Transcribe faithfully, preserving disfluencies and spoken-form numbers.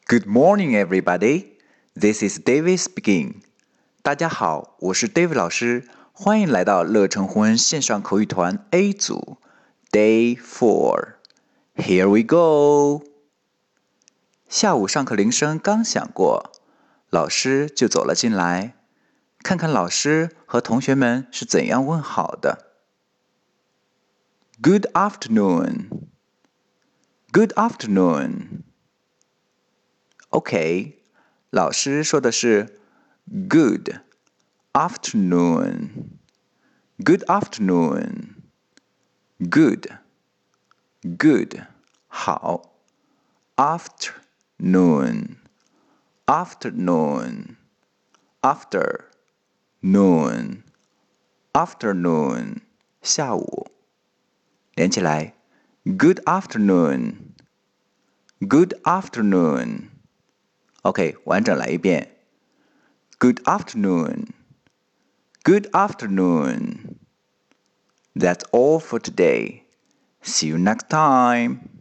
Good morning, everybody. This is David speaking. 大家好，我是 David 老师，欢迎来到乐成红恩线上口语团 A 组 Day four. Here we go. 下午上课铃声刚响过，老师就走了进来，看看老师和同学们是怎样问好的。Good afternoon. Good afternoon. OK, 老师说的是 Good afternoon. Good afternoon. Good. Good. 好。Afternoon. Afternoon. After. Noon. Afternoon. 下午。连起来。Good afternoon. Good afternoon. OK, 完整来一遍。Good afternoon. Good afternoon. That's all for today. See you next time.